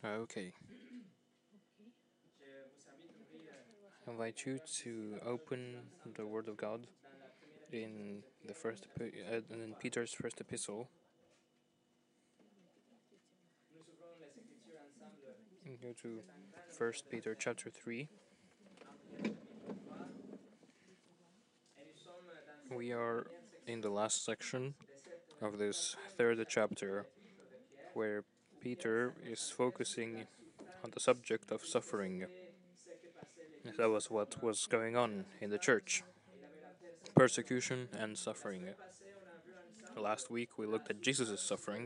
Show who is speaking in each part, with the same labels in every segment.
Speaker 1: Okay. I invite you to open the Word of God in in Peter's first epistle. Go to First Peter chapter 3. We are in the last section of this third chapter, where Peter is focusing on the subject of suffering. That was what was going on in the church: persecution and suffering. Last week we looked at Jesus' suffering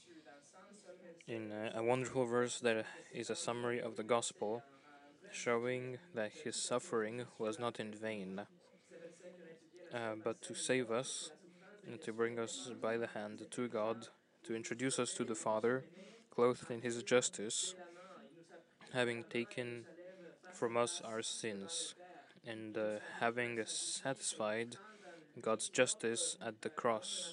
Speaker 1: in a wonderful verse that is a summary of the gospel, showing that his suffering was not in vain, but to save us and to bring us by the hand to God, to introduce us to the Father, clothed in his justice, having taken from us our sins, and having satisfied God's justice at the cross.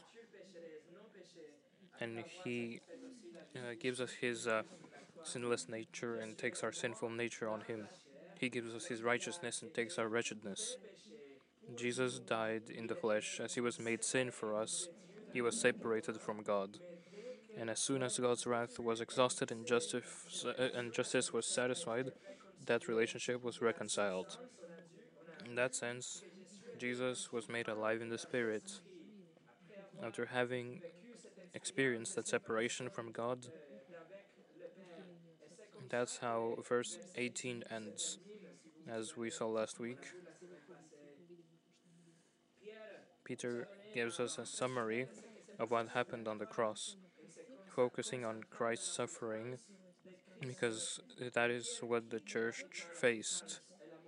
Speaker 1: And he gives us his sinless nature and takes our sinful nature on him. He gives us his righteousness and takes our wretchedness. Jesus died in the flesh. As he was made sin for us, he was separated from God. And as soon as God's wrath was exhausted and justice was satisfied, that relationship was reconciled. In that sense, Jesus was made alive in the Spirit. After having experienced that separation from God, that's how verse 18 ends. As we saw last week, Peter gives us a summary of what happened on the cross, focusing on Christ's suffering, because that is what the church faced.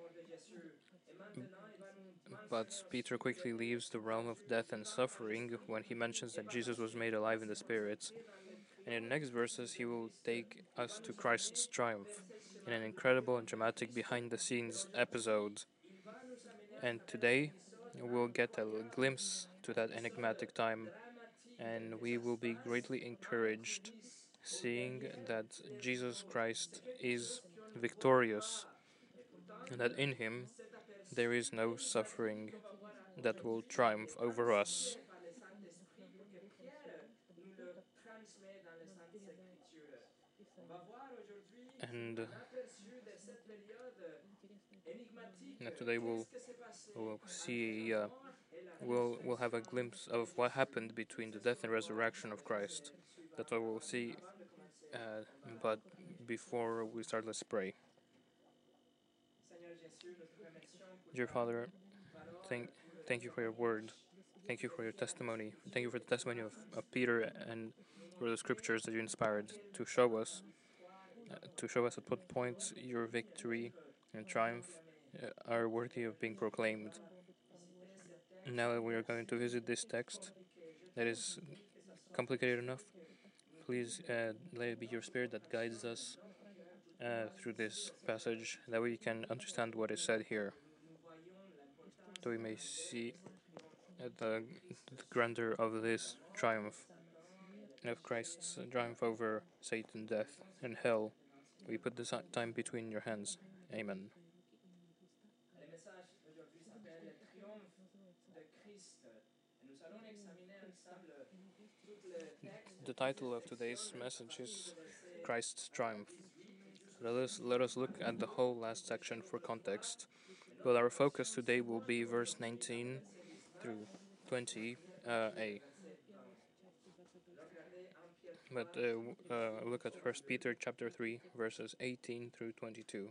Speaker 1: But Peter quickly leaves the realm of death and suffering when he mentions that Jesus was made alive in the Spirit. And in the next verses, he will take us to Christ's triumph in an incredible and dramatic behind the scenes episode. And today, we'll get a glimpse to that enigmatic time, and we will be greatly encouraged seeing that Jesus Christ is victorious and that in him there is no suffering that will triumph over us. And today we'll see we'll have a glimpse of what happened between the death and resurrection of Christ. That's what we'll see. But before we start, let's pray. Dear Father, thank thank you for your word. Thank you for your testimony. Thank you for the testimony of Peter and for the scriptures that you inspired to show us at what point your victory and triumph are worthy of being proclaimed. Now that we are going to visit this text that is complicated enough, please let it be your spirit that guides us through this passage, that we can understand what is said here, that we may see the grandeur of this triumph, of Christ's triumph over Satan, death, and hell. We put this time between your hands. Amen. The title of today's message is Christ's Triumph. Let us look at the whole last section for context, but our focus today will be verse 19 through 20a. But look at 1 Peter chapter 3, verses 18 through 22.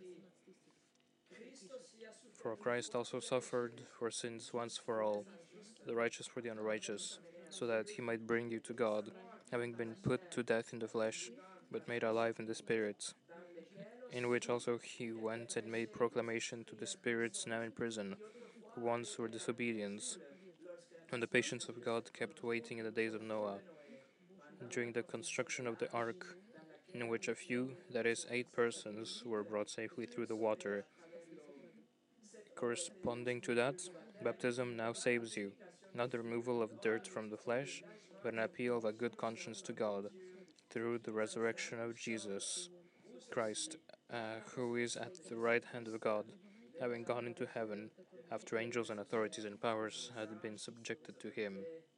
Speaker 1: For Christ also suffered for sins once for all, the righteous for the unrighteous, so that he might bring you to God, having been put to death in the flesh, but made alive in the Spirit, in which also he went and made proclamation to the spirits now in prison, who once were disobedient, when the patience of God kept waiting in the days of Noah, during the construction of the ark, in which a few, that is, 8 persons, were brought safely through the water. Corresponding to that, baptism now saves you, not the removal of dirt from the flesh, but an appeal of a good conscience to God, through the resurrection of Jesus Christ, who is at the right hand of God, having gone into heaven, after angels and authorities and powers had been subjected to him.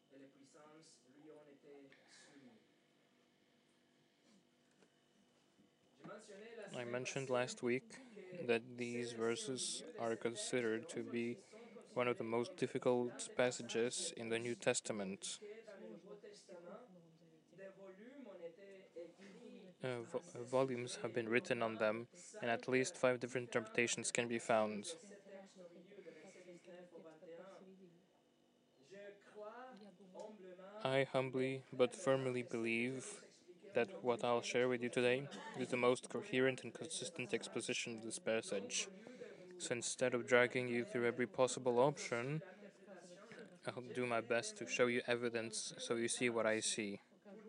Speaker 1: I mentioned last week that these verses are considered to be one of the most difficult passages in the New Testament. Volumes have been written on them, and at least 5 different interpretations can be found. I humbly but firmly believe that what I'll share with you today is the most coherent and consistent exposition of this passage. So instead of dragging you through every possible option, I'll do my best to show you evidence so you see what I see.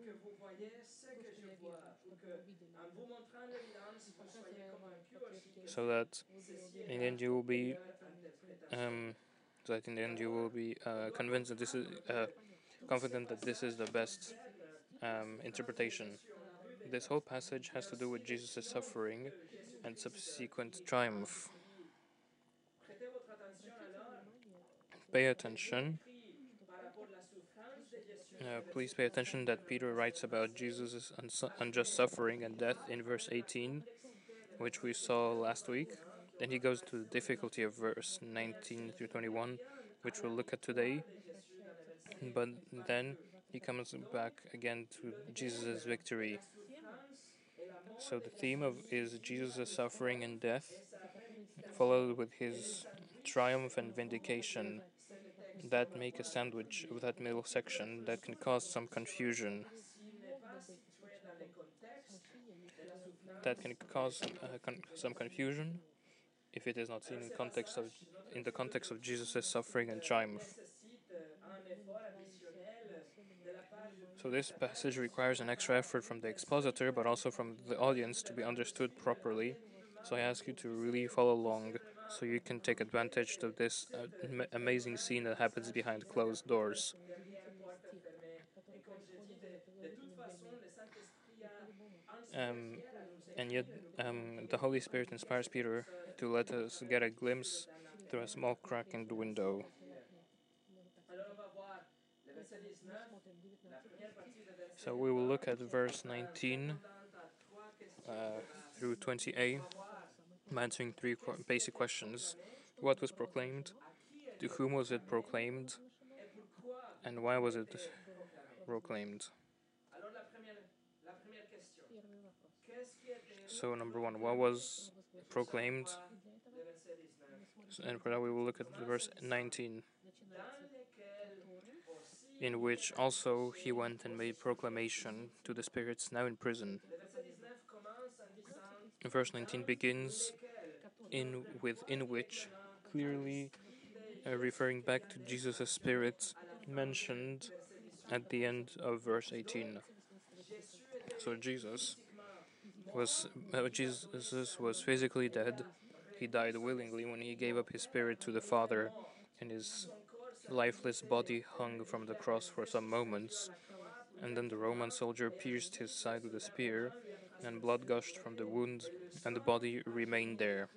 Speaker 1: So that in the end you will be convinced that this is confident that this is the best interpretation. This whole passage has to do with Jesus' suffering and subsequent triumph. Pay attention. Please pay attention that Peter writes about Jesus' unjust suffering and death in verse 18, which we saw last week. Then he goes to the difficulty of verse 19 through 21, which we'll look at today. But then he comes back again to Jesus' victory. So the theme is Jesus' suffering and death, followed with his triumph and vindication. That make a sandwich of that middle section that can cause some confusion. That can cause some confusion if it is not seen in the context of Jesus' suffering and triumph. So this passage requires an extra effort from the expositor, but also from the audience to be understood properly. So I ask you to really follow along so you can take advantage of this amazing scene that happens behind closed doors. And yet, the Holy Spirit inspires Peter to let us get a glimpse through a small crack in the window. So we will look at verse 19 through 20a, answering 3 basic questions. What was proclaimed? To whom was it proclaimed? And why was it proclaimed? So number 1, what was proclaimed? And for that we will look at verse 19, in which also he went and made proclamation to the spirits now in prison. Verse 19 begins in which, clearly referring back to Jesus' spirit mentioned at the end of verse 18. So Jesus was physically dead. He died willingly when he gave up his spirit to the Father, and his lifeless body hung from the cross for some moments. And then the Roman soldier pierced his side with a spear, and blood gushed from the wound, and the body remained there.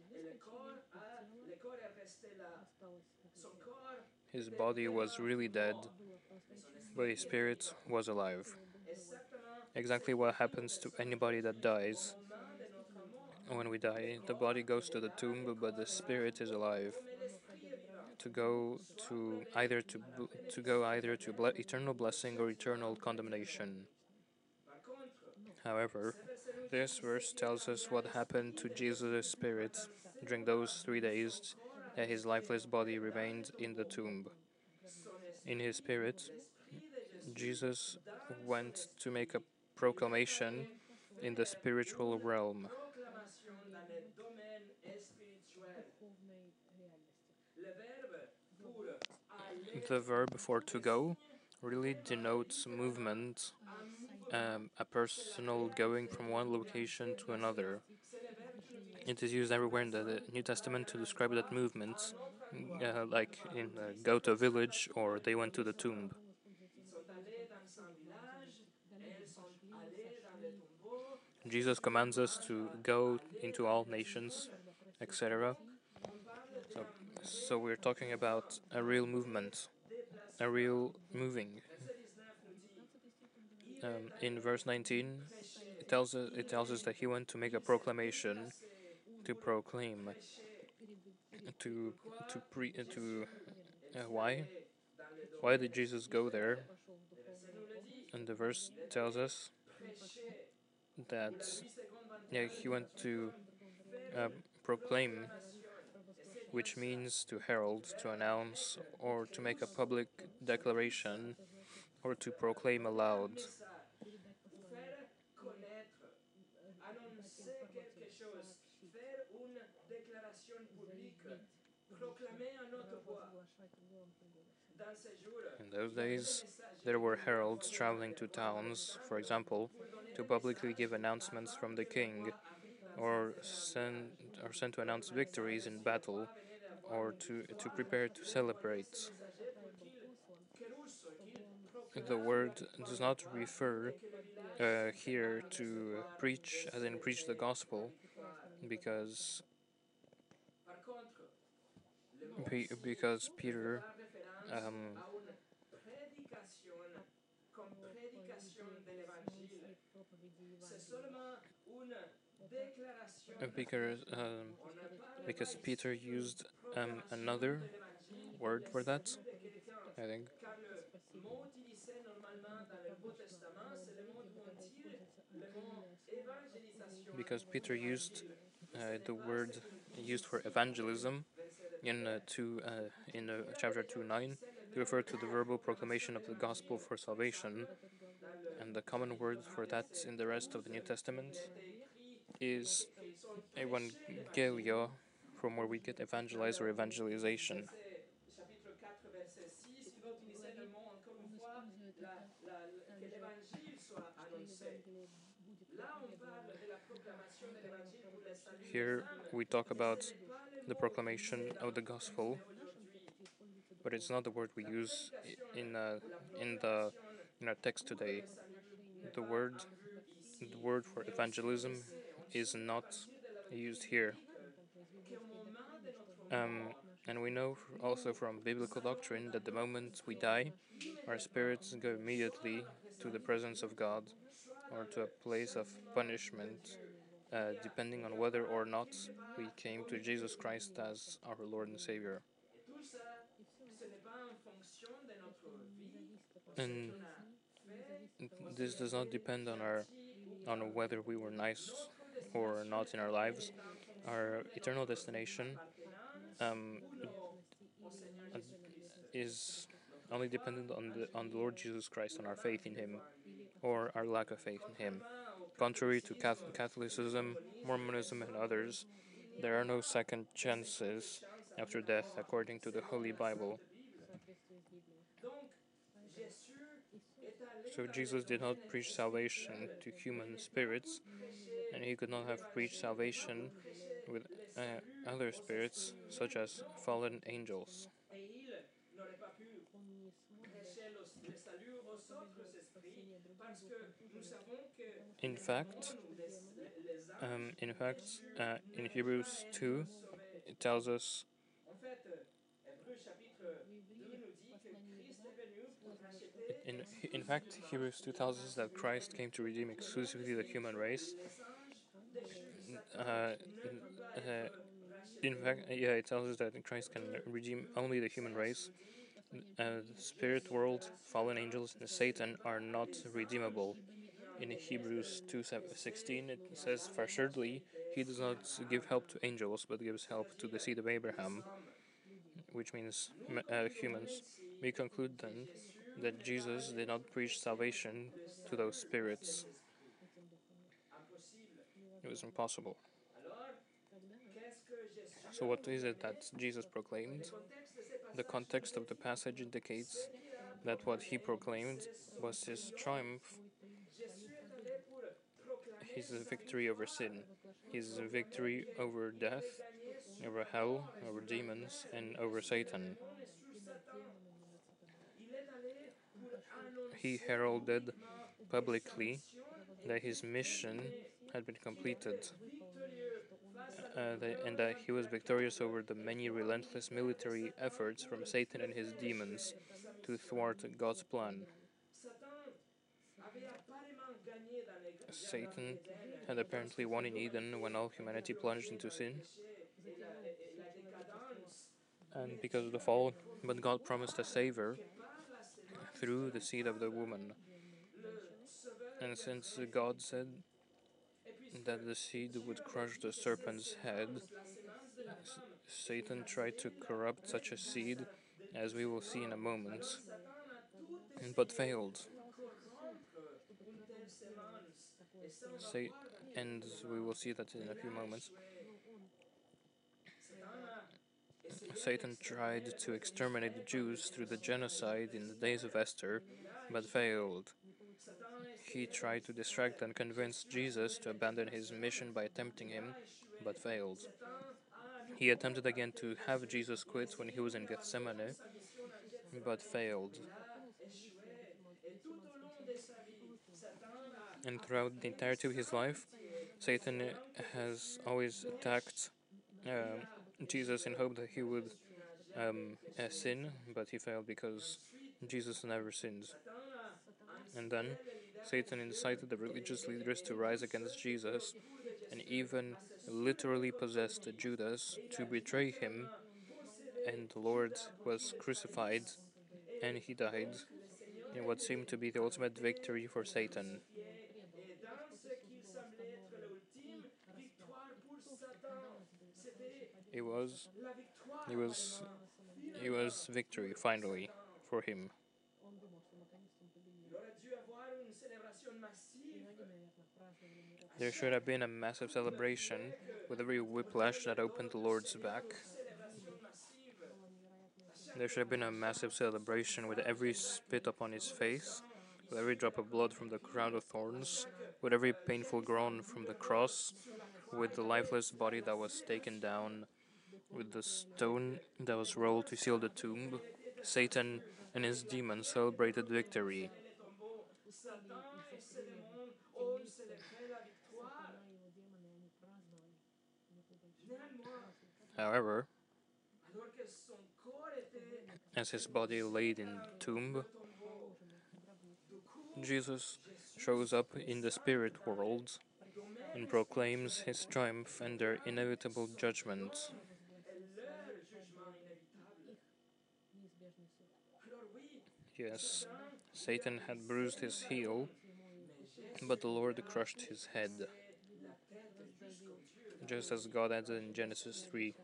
Speaker 1: His body was really dead, but his spirit was alive. Exactly what happens to anybody that dies. When we die, the body goes to the tomb, but the spirit is alive, to go either to eternal blessing or eternal condemnation. However, this verse tells us what happened to Jesus' spirit during those 3 days that his lifeless body remained in the tomb. In his spirit, Jesus went to make a proclamation in the spiritual realm. The verb for to go really denotes movement, a personal going from one location to another. It is used everywhere in the New Testament to describe that movement, like in go to a village or they went to the tomb. Jesus commands us to go into all nations, etc. So, so we're talking about a real movement, a real moving. In verse 19, it tells us that he went to make a proclamation, to proclaim, to to why? Why did Jesus go there? And the verse tells us that yeah, he went to uh, proclaim, which means to herald, to announce, or to make a public declaration, or to proclaim aloud. In those days, there were heralds traveling to towns, for example, to publicly give announcements from the king, or sent to announce victories in battle, or to prepare to celebrate. The word does not refer here to preach, as in preach the gospel, because because Peter because because Peter used another word for that, I think. Because Peter used the word used for evangelism in chapter 2:9 to refer to the verbal proclamation of the gospel for salvation, and the common word for that in the rest of the New Testament is evangelio, from where we get evangelize or evangelization. Here we talk about the proclamation of the gospel, but it's not the word we use in the in our text today. The word the word for evangelism is not used here. And we know also from biblical doctrine that the moment we die, our spirits go immediately to the presence of God or to a place of punishment, depending on whether or not we came to Jesus Christ as our Lord and Savior. And this does not depend on whether we were nice or not in our lives. Our eternal destination um, is only dependent on the Lord Jesus Christ, on our faith in Him, or our lack of faith in Him. Contrary to Catholicism, Mormonism, and others, there are no second chances after death, according to the Holy Bible. So Jesus did not preach salvation to human spirits, and he could not have preached salvation with other spirits, such as fallen angels. In fact, in Hebrews 2, it tells us. In fact, Hebrews 2 tells us that Christ came to redeem exclusively the human race. Uh, uh, in fact, yeah, it tells us that Christ can redeem only the human race. The spirit world, fallen angels, and Satan are not redeemable. In Hebrews 2:16, it says, "For surely he does not give help to angels, but gives help to the seed of Abraham," which means humans. We conclude then that Jesus did not preach salvation to those spirits. It was impossible. So, what is it that Jesus proclaimed? The context of the passage indicates that what he proclaimed was his triumph, his victory over sin, his victory over death, over hell, over demons, and over Satan. He heralded publicly that his mission had been completed, and that he was victorious over the many relentless military efforts from Satan and his demons to thwart God's plan. Satan had apparently won in Eden when all humanity plunged into sin and because of the fall, but God promised a Savior through the seed of the woman. And since God said that the seed would crush the serpent's head, Satan tried to corrupt such a seed, as we will see in a moment, but failed. Sa- and we will see that in a few moments. Satan tried to exterminate the Jews through the genocide in the days of Esther, but failed. He tried to distract and convince Jesus to abandon his mission by tempting him, but failed. He attempted again to have Jesus quit when he was in Gethsemane, but failed. And throughout the entirety of his life, Satan has always attacked Jesus in hope that he would sin, but he failed because Jesus never sins. And then Satan incited the religious leaders to rise against Jesus and even literally possessed Judas to betray him, and the Lord was crucified and he died in what seemed to be the ultimate victory for Satan. It was it was it was victory finally for him. There should have been a massive celebration with every whiplash that opened the Lord's back. There should have been a massive celebration with every spit upon his face, with every drop of blood from the crown of thorns, with every painful groan from the cross, with the lifeless body that was taken down, with the stone that was rolled to seal the tomb. Satan and his demons celebrated victory. However, as his body laid in the tomb, Jesus shows up in the spirit world and proclaims his triumph and their inevitable judgment. Yes, Satan had bruised his heel, but the Lord crushed his head, just as God added in Genesis 3.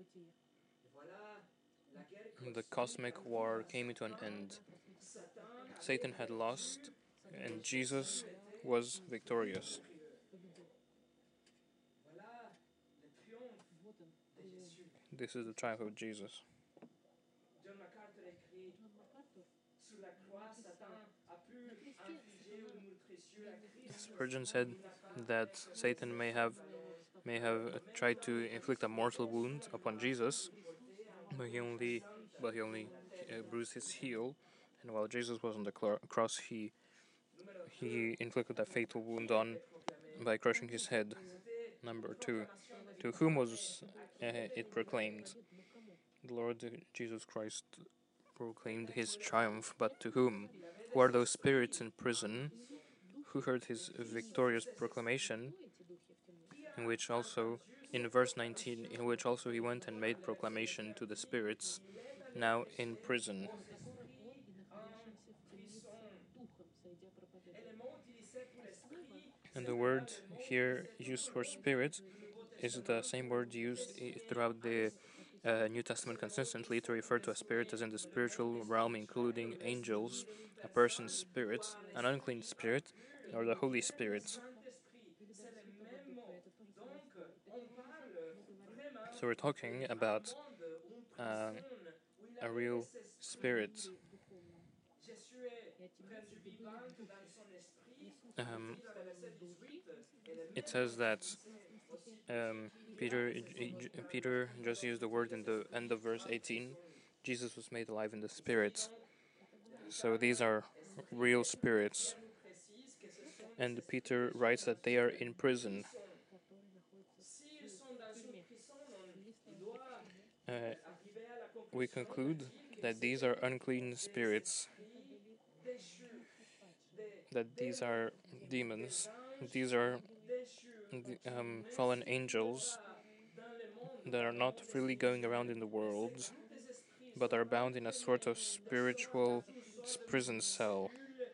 Speaker 1: The cosmic war came to an end. Satan had lost, and Jesus was victorious. This is the triumph of Jesus. Spurgeon said that Satan may have tried to inflict a mortal wound upon Jesus, but he only bruised his heel, and while Jesus was on the cross, he inflicted a fatal wound on by crushing his head. Number 2, to whom was it proclaimed? The Lord Jesus Christ proclaimed his triumph, but to whom? Who are those spirits in prison who heard his victorious proclamation, in which also, in verse 19, in which also he went and made proclamation to the spirits now in prison. And the word here used for spirit is the same word used throughout the New Testament consistently to refer to a spirit as in the spiritual realm, including angels, a person's spirit, an unclean spirit, or the Holy Spirit. So we're talking about a real spirit. Um, it says that Peter just used the word in the end of verse 18. Jesus was made alive in the spirit. So these are real spirits. And Peter writes that they are in prison. Uh, we conclude that these are unclean spirits, that these are demons, these are fallen angels that are not freely going around in the world, but are bound in a sort of spiritual prison cell.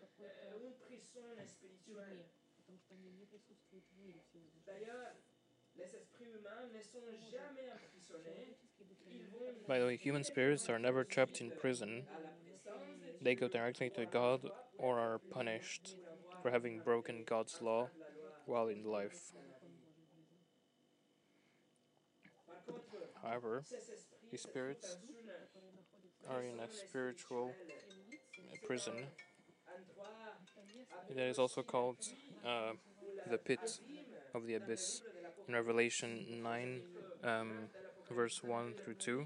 Speaker 1: By the way, human spirits are never trapped in prison. They go directly to God or are punished for having broken God's law while in life. However, these spirits are in a spiritual prison that is also called the pit of the abyss. In Revelation 9, verse 1 through 2,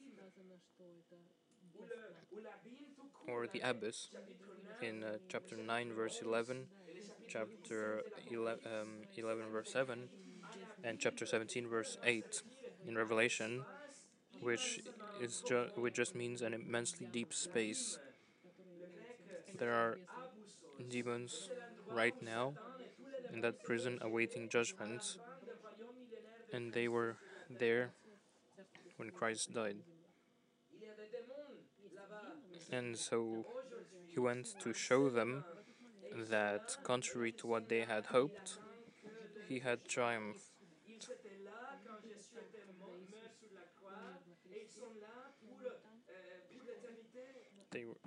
Speaker 1: or the abyss in chapter 9, verse 11, chapter 11, verse 7, and chapter 17, verse 8 in Revelation, which just means an immensely deep space. There are demons right now in that prison awaiting judgment, and they were there when Christ died. And so he went to show them that, contrary to what they had hoped, he had triumphed. They were,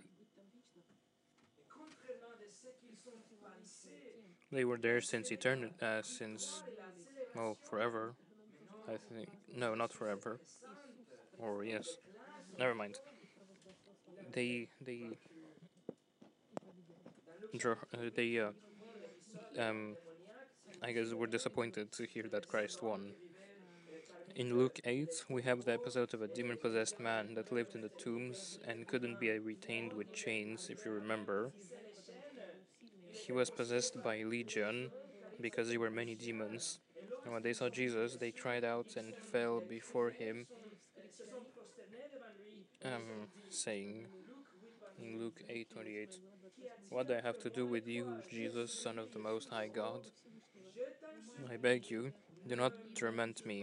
Speaker 1: they were there since eternity, forever. I think no, not forever. Or yes, never mind. They they I guess were disappointed to hear that Christ won. In Luke 8, we have the episode of a demon possessed man that lived in the tombs and couldn't be retained with chains, if you remember. He was possessed by Legion because there were many demons. And when they saw Jesus, they cried out and fell before him, saying in Luke 8:28, "What do I have to do with you, Jesus, Son of the Most High God? I beg you, do not torment me."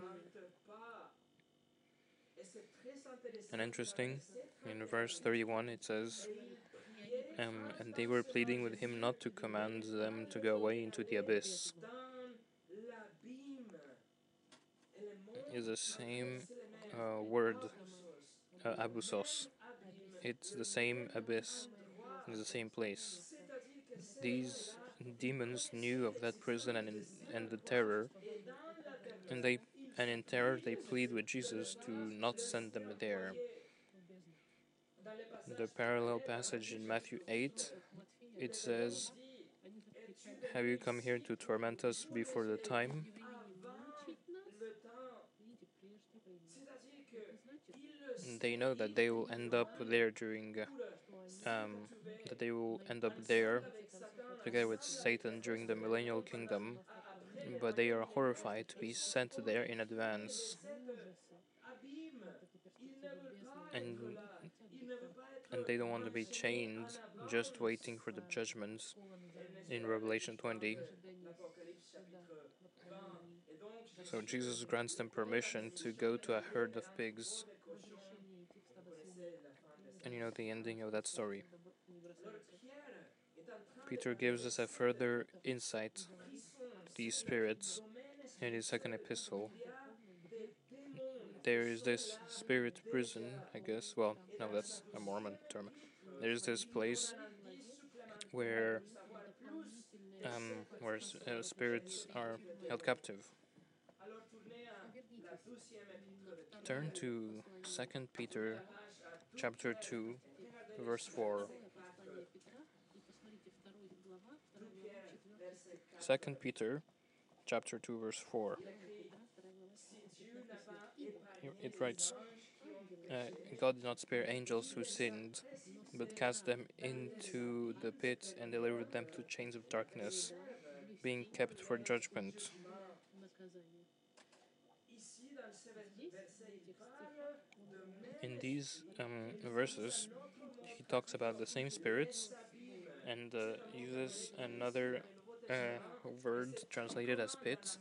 Speaker 1: And interesting, in verse 31 it says, and they were pleading with him not to command them to go away into the abyss. Is the same word, abusos. It's the same abyss, in the same place. These demons knew of that prison and the terror, and in terror they plead with Jesus to not send them there. The parallel passage in Matthew 8, it says, "Have you come here to torment us before the time?" They know that they will end up there together with Satan during the millennial kingdom, but they are horrified to be sent there in advance. And they don't want to be chained, just waiting for the judgments in Revelation 20. So Jesus grants them permission to go to a herd of pigs. And you know the ending of that story. Peter gives us a further insight to these spirits in his second epistle. There is this spirit prison, I guess. Well, no, that's a Mormon term. There's this place where spirits are held captive. Turn to 2 Peter chapter 2, verse 4. 2 Peter chapter 2, verse 4. It writes, God did not spare angels who sinned, but cast them into the pit and delivered them to chains of darkness being kept for judgment. In these verses, he talks about the same spirits and uses another word translated as pit,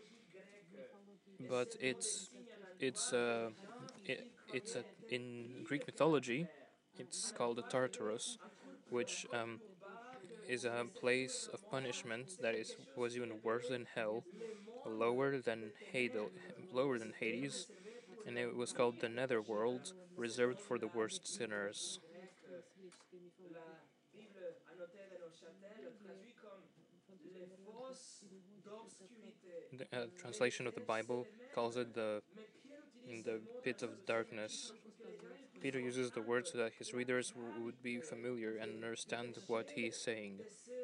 Speaker 1: but it's it's a, in Greek mythology, it's called the Tartarus, which is a place of punishment that was even worse than hell, lower than lower than Hades, and it was called the Netherworld, reserved for the worst sinners. The translation of the Bible calls it the pit of darkness. Peter uses the word so that his readers would be familiar and understand what he is saying.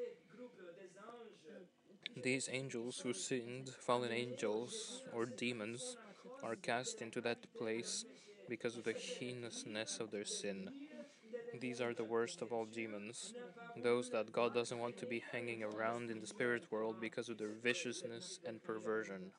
Speaker 1: These angels who sinned, fallen angels or demons, are cast into that place because of the heinousness of their sin. These are the worst of all demons, those that God doesn't want to be hanging around in the spirit world because of their viciousness and perversion.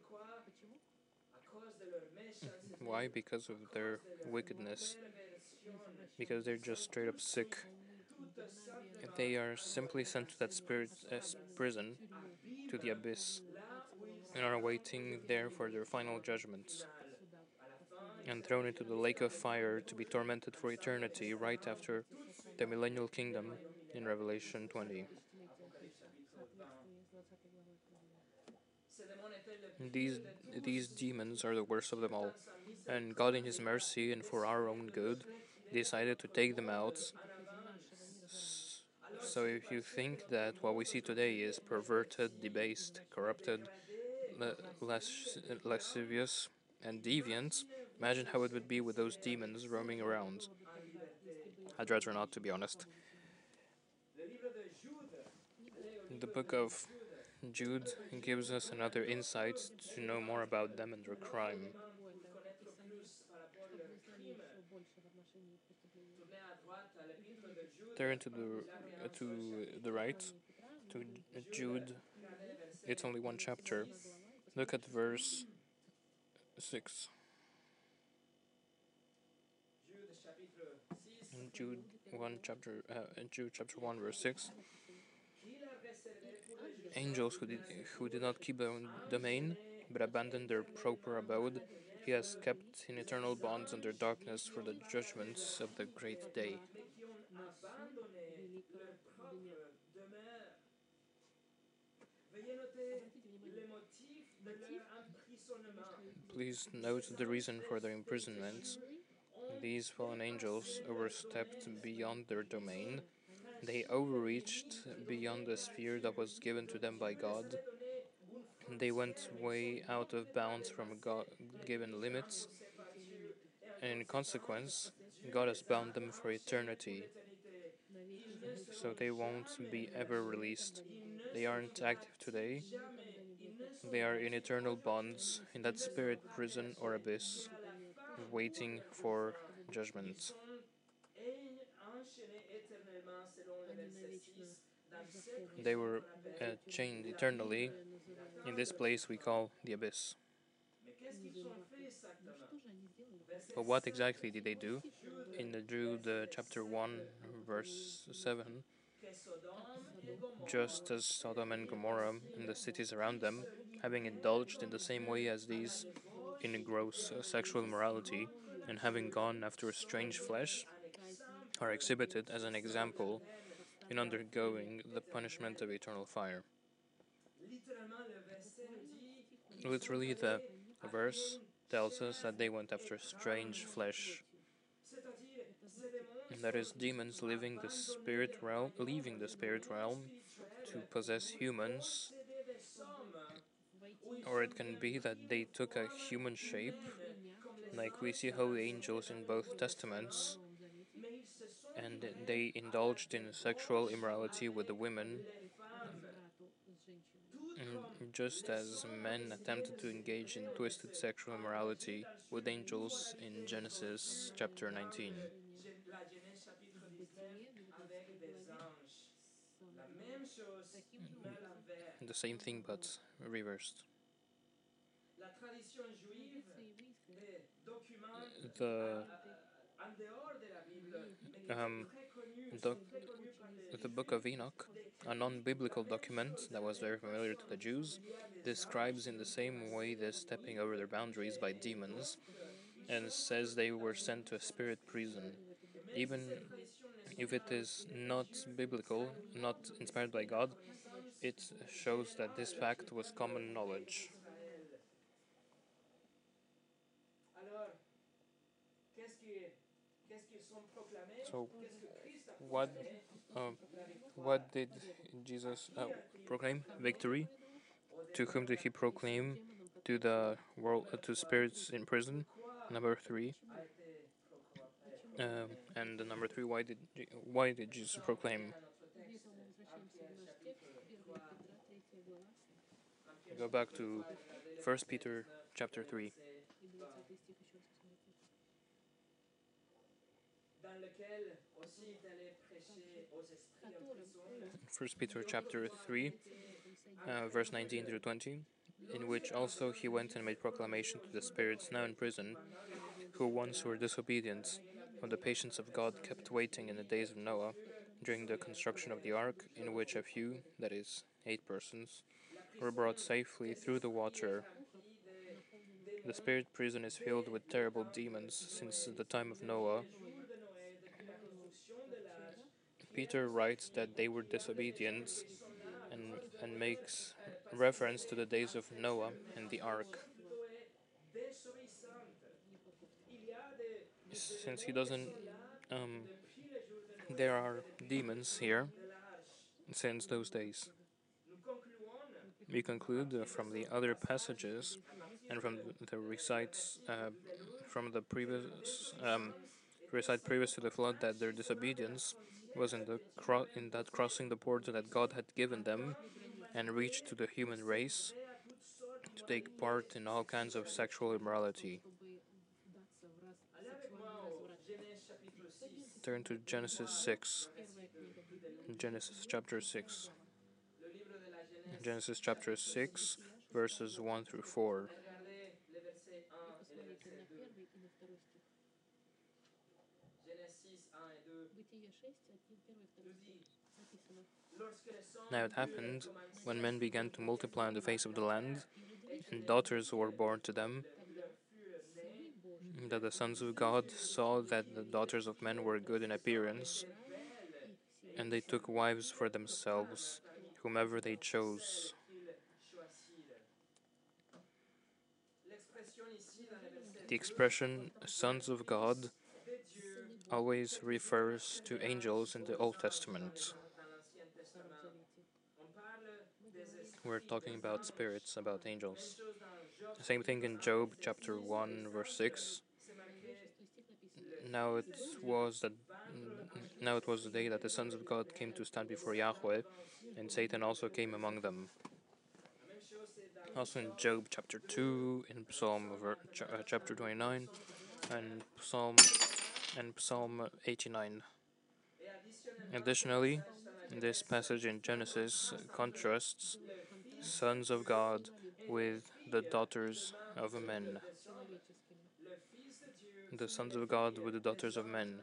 Speaker 1: Why? Because of their wickedness. Because they're just straight up sick. They are simply sent to that spirit prison, to the abyss, and are waiting there for their final judgments, and thrown into the lake of fire to be tormented for eternity right after the millennial kingdom in Revelation 20. These, these demons are the worst of them all, and God, in His mercy and for our own good, decided to take them out. So, if you think that what we see today is perverted, debased, corrupted, lascivious, and deviant, imagine how it would be with those demons roaming around. I'd rather not, to be honest. The book of Jude gives us another insight to know more about them and their crime. Turn to the right, to Jude. It's only one chapter. Look at verse 6. In Jude chapter 1 verse 6. Angels who did not keep their own domain, but abandoned their proper abode, he has kept in eternal bonds under darkness for the judgments of the great day. Please note the reason for their imprisonment. These fallen angels overstepped beyond their domain. They overreached beyond the sphere that was given to them by God. They went way out of bounds from God given limits, and in consequence, God has bound them for eternity, so they won't be ever released. They aren't active today, they are in eternal bonds in that spirit prison or abyss, waiting for judgment. They were chained eternally in this place we call the abyss. But what exactly did they do? In the Jude chapter 1, verse 7, just as Sodom and Gomorrah and the cities around them, having indulged in the same way as these in gross sexual immorality, and having gone after strange flesh, are exhibited as an example in undergoing the punishment of eternal fire. Literally, the verse tells us that they went after strange flesh. And that is demons leaving the spirit realm to possess humans, or it can be that they took a human shape, like we see holy angels in both testaments, and they indulged in sexual immorality with the women, just as men attempted to engage in twisted sexual immorality with angels in Genesis chapter 19. The same thing but reversed. The um, doc- the Book of Enoch, a non-biblical document that was very familiar to the Jews, describes in the same way the stepping over their boundaries by demons, and says they were sent to a spirit prison. Even if it is not biblical, not inspired by God, it shows that this fact was common knowledge. So, what uh, what did Jesus proclaim? Victory. To whom did he proclaim? To the world, to spirits in prison. Number three. And the number three. Why did Jesus proclaim? Go back to 1 Peter chapter 3. First Peter chapter 3, verse 19 through 20, in which also he went and made proclamation to the spirits now in prison, who once were disobedient, when the patience of God kept waiting in the days of Noah, during the construction of the ark, in which a few, that is, 8 persons, were brought safely through the water. The spirit prison is filled with terrible demons since the time of Noah. Peter writes that they were disobedient and makes reference to the days of Noah and the ark. Since he doesn't, there are demons here since those days. We conclude from the other passages and from the recites from the previous recite previous to the flood that their disobedience was in that crossing the border that God had given them and reached to the human race to take part in all kinds of sexual immorality. Turn to Genesis 6. Genesis chapter 6. Genesis chapter 6, verses 1 through 4. Now it happened, when men began to multiply on the face of the land, and daughters were born to them, that the sons of God saw that the daughters of men were good in appearance, and they took wives for themselves, whomever they chose. The expression sons of God always refers to angels in the Old Testament. We're talking about spirits, about angels. The same thing in Job chapter 1, verse 6. Now it was that now it was the day that the sons of God came to stand before Yahweh, and Satan also came among them. Also in Job chapter 2, in Psalm chapter 29, and Psalm 89. Additionally, this passage in Genesis contrasts sons of God with the daughters of men. The sons of God with the daughters of men.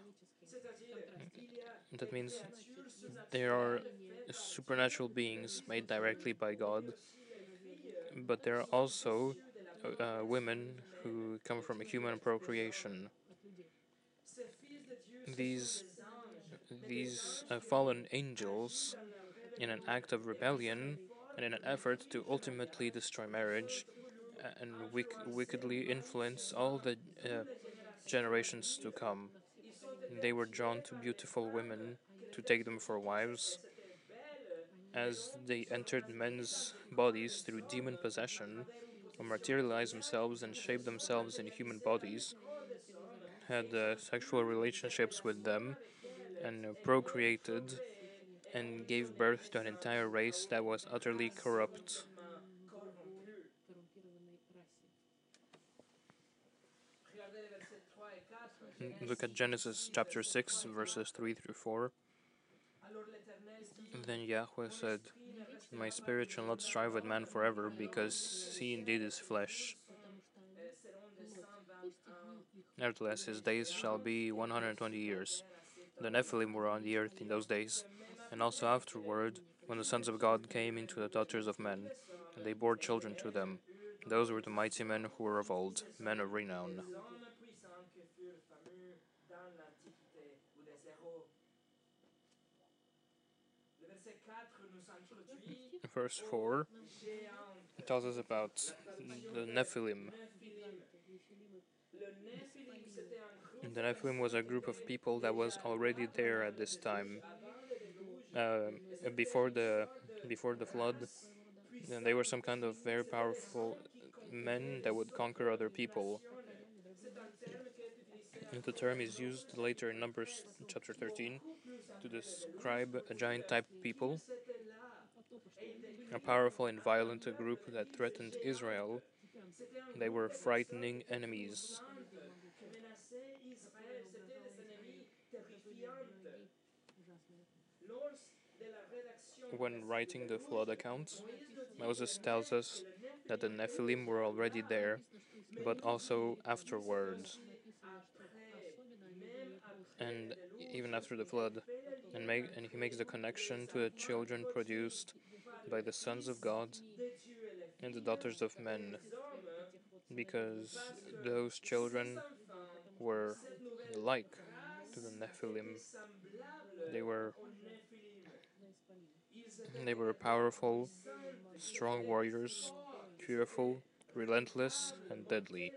Speaker 1: That means there are supernatural beings made directly by God, but there are also women who come from human procreation. These fallen angels, in an act of rebellion and in an effort to ultimately destroy marriage and wickedly influence all the generations to come, they were drawn to beautiful women to take them for wives. As they entered men's bodies through demon possession, or materialized themselves and shaped themselves in human bodies, had sexual relationships with them, and procreated, and gave birth to an entire race that was utterly corrupt. Look at Genesis chapter 6, verses 3 through 4. Then Yahweh said, My spirit shall not strive with man forever, because he indeed is flesh. Nevertheless, his days shall be 120 years. The Nephilim were on the earth in those days, and also afterward, when the sons of God came into the daughters of men, and they bore children to them. Those were the mighty men who were of old, men of renown. Verse 4 tells us about the Nephilim. The Nephilim was a group of people that was already there at this time, uh, before the flood, and they were some kind of very powerful men that would conquer other people. And the term is used later in Numbers chapter 13 to describe a giant type of people, a powerful and violent group that threatened Israel. They were frightening enemies. When writing the flood account, Moses tells us that the Nephilim were already there, but also afterwards, and even after the flood, and he makes the connection to the children produced by the sons of God and the daughters of men, because those children were like to the Nephilim. They were they were powerful, strong warriors, fearful, relentless, and deadly.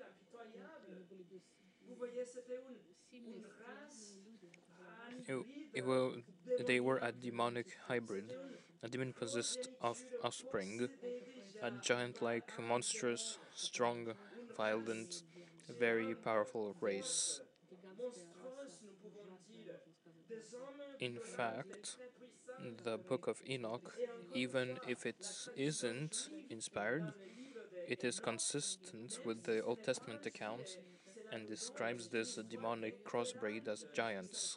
Speaker 1: It, it will, they were a demonic hybrid, a demon possessed of offspring, a giant like, monstrous, strong, violent, very powerful race. In fact, the book of Enoch, even if it isn't inspired, it is consistent with the Old Testament account and describes this demonic crossbreed as giants.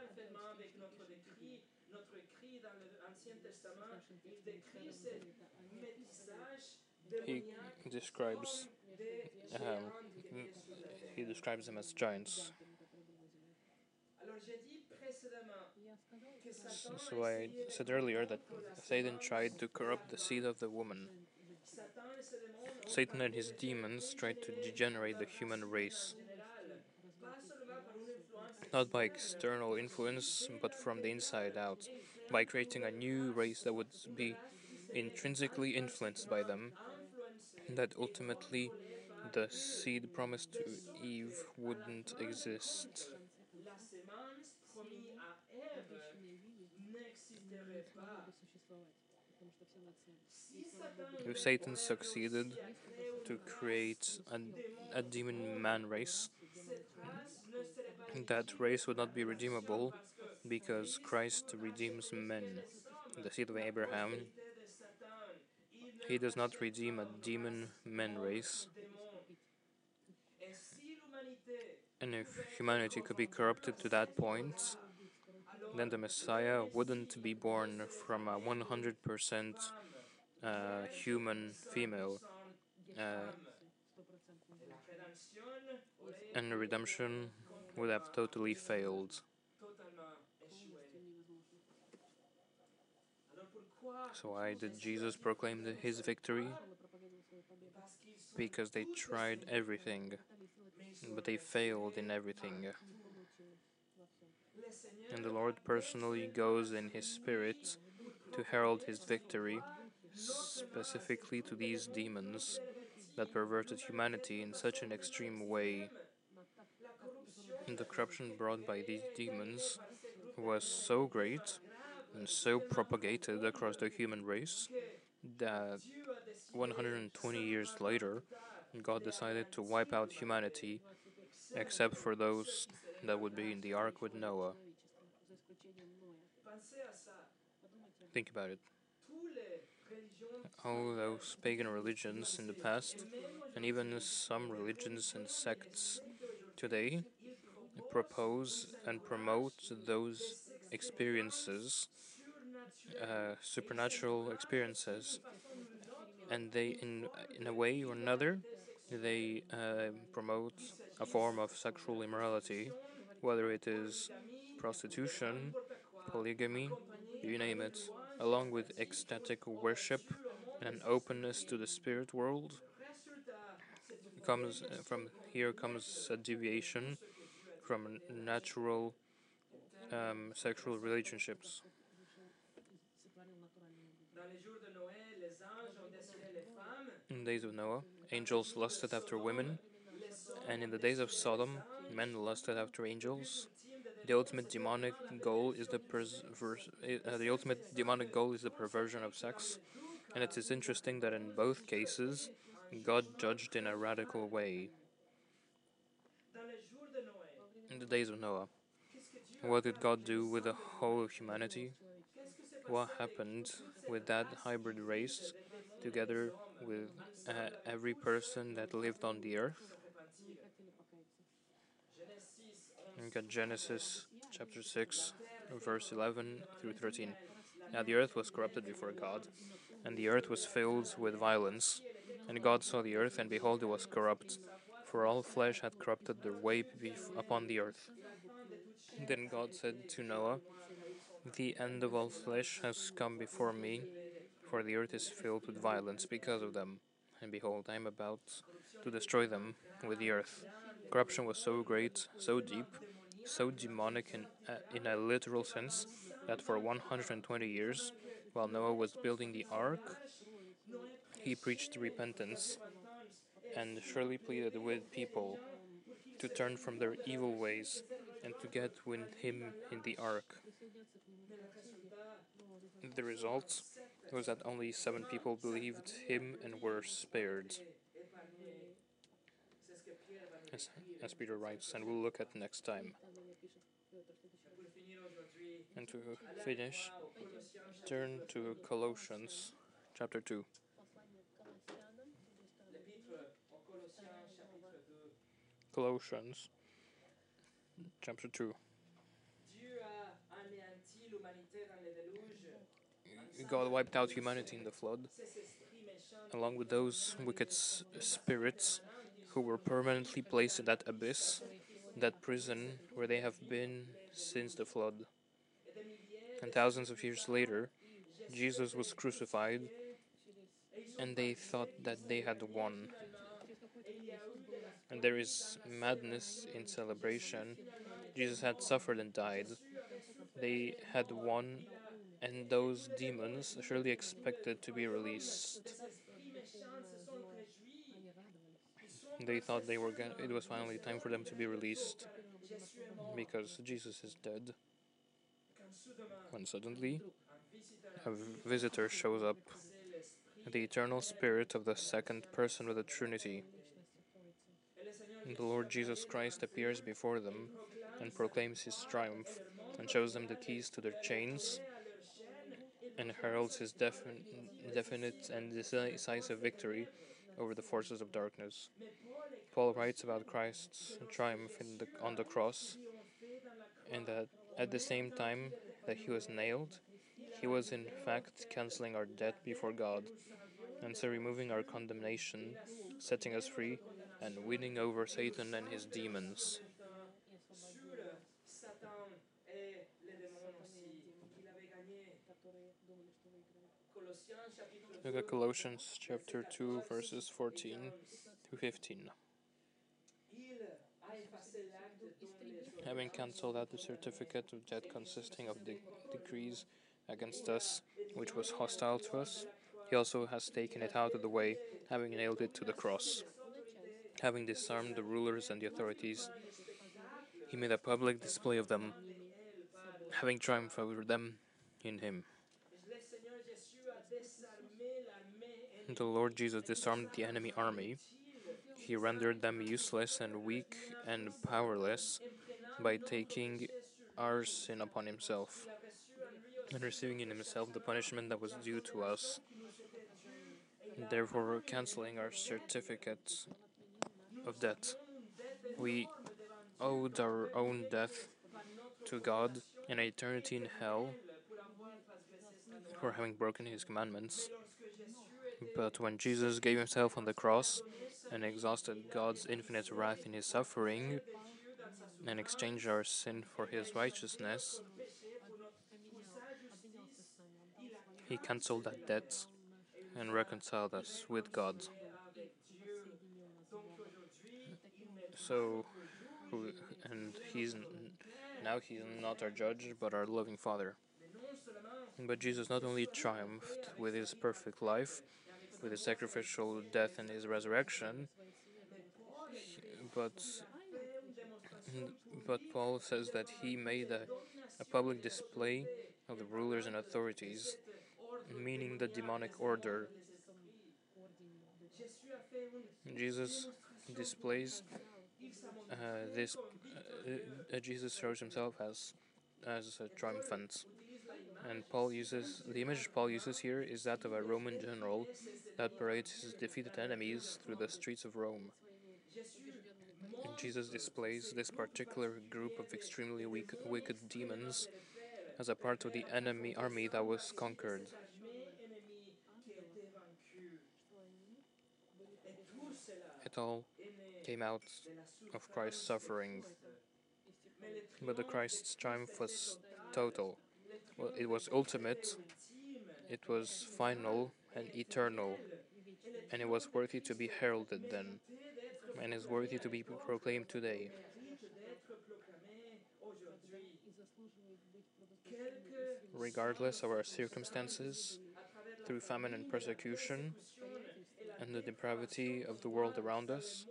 Speaker 1: He describes um, he describes them as giants. So I said earlier that Satan tried to corrupt the seed of the woman. Satan and his demons tried to degenerate the human race, not by external influence, but from the inside out, by creating a new race that would be intrinsically influenced by them, that ultimately the seed promised to Eve wouldn't exist. If Satan succeeded to create a demon man race, that race would not be redeemable because Christ redeems men, the seed of Abraham. He does not redeem a demon men race. And if humanity could be corrupted to that point, then the Messiah wouldn't be born from a 100% human female, and redemption would have totally failed. So why did Jesus proclaim his victory? Because they tried everything, but they failed in everything. And the Lord personally goes in his spirit to herald his victory, specifically to these demons that perverted humanity in such an extreme way. And the corruption brought by these demons was so great and so propagated across the human race that 120 years later, God decided to wipe out humanity, except for those that would be in the ark with Noah. Think about it. All those pagan religions in the past, and even some religions and sects today, propose and promote those experiences, supernatural experiences, and they, in a way or another, they promote a form of sexual immorality, whether it is prostitution, polygamy, you name it, along with ecstatic worship and an openness to the spirit world. Comes from here comes a deviation from natural sexual relationships. In the days of Noah, angels lusted after women, and in the days of Sodom, men lusted after angels. The ultimate demonic goal is the perversion of sex, and it is interesting that in both cases, God judged in a radical way. In the days of Noah, what did God do with the whole of humanity? What happened with that hybrid race together with every person that lived on the earth? Look at Genesis chapter 6, verse 11 through 13. Now the earth was corrupted before God, and the earth was filled with violence. And God saw the earth, and behold, it was corrupt, for all flesh had corrupted their way upon the earth. Then God said to Noah, the end of all flesh has come before me, for the earth is filled with violence because of them. And behold, I am about to destroy them with the earth. Corruption was so great, so deep, so demonic in a literal sense, that for 120 years, while Noah was building the ark, he preached repentance and surely pleaded with people to turn from their evil ways and to get with him in the ark. The result was that only 7 people believed him and were spared, as Peter writes, and we'll look at next time. And to finish, turn to Colossians chapter 2. Colossians chapter 2. God wiped out humanity in the flood, along with those wicked spirits who were permanently placed in that abyss, that prison where they have been since the flood. And thousands of years later, Jesus was crucified, and they thought that they had won. And there is madness in celebration. Jesus had suffered and died. They had won, and those demons surely expected to be released. They thought it was finally time for them to be released because Jesus is dead. When suddenly a visitor shows up, the eternal spirit of the second person of the Trinity. The Lord Jesus Christ appears before them and proclaims his triumph and shows them the keys to their chains and heralds his definite and decisive victory over the forces of darkness. Paul writes about Christ's triumph on the cross, and that at the same time that he was nailed, he was in fact cancelling our debt before God, and so removing our condemnation, setting us free, and winning over Satan and his demons. Look at Colossians chapter 2, verses 14 to 15. Having cancelled out the certificate of debt consisting of decrees against us, which was hostile to us, he also has taken it out of the way, having nailed it to the cross. Having disarmed the rulers and the authorities, he made a public display of them, having triumphed over them in him. The Lord Jesus disarmed the enemy army. He rendered them useless and weak and powerless by taking our sin upon himself and receiving in himself the punishment that was due to us, therefore cancelling our certificate of debt. We owed our own death to God and an eternity in hell for having broken his commandments. But when Jesus gave himself on the cross and exhausted God's infinite wrath in his suffering and exchanged our sin for his righteousness, he cancelled that debt and reconciled us with God. So, and now he's not our judge, but our loving Father. But Jesus not only triumphed with his perfect life, with his sacrificial death and his resurrection, but Paul says that he made a public display of the rulers and authorities, meaning the demonic order. Jesus displays this. Jesus shows himself as triumphant, and Paul uses the image Paul uses here is that of a Roman general that parades his defeated enemies through the streets of Rome. And Jesus displays this particular group of extremely wicked demons as a part of the enemy army that was conquered. It all came out of Christ's suffering, but the Christ's triumph was total. Well, it was ultimate, it was final and eternal, and it was worthy to be heralded then, and is worthy to be proclaimed today. Regardless of our circumstances, through famine and persecution, and the depravity of the world around us,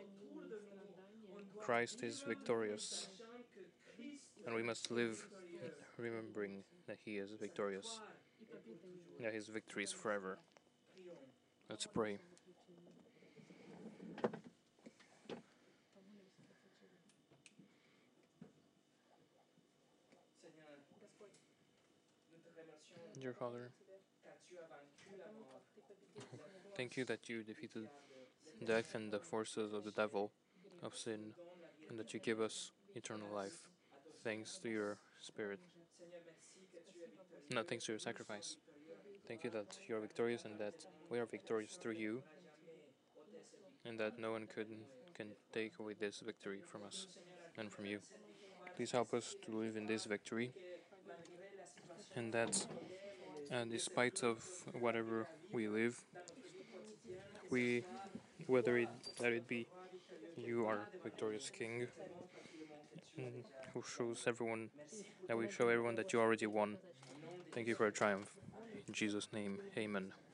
Speaker 1: Christ is victorious, and we must live remembering that He is victorious, that His victory is forever. Let's pray. Dear Father, thank you that you defeated death and the forces of the devil, of sin, and that you give us eternal life, thanks to your Spirit. No, thanks to your sacrifice. Thank you that you are victorious and that we are victorious through you, and that no one can take away this victory from us and from you. Please help us to live in this victory, and that despite of whatever we live, we, let it be you, our victorious King, who shows everyone that we show everyone that you already won. Thank you for a triumph. In Jesus' name, amen.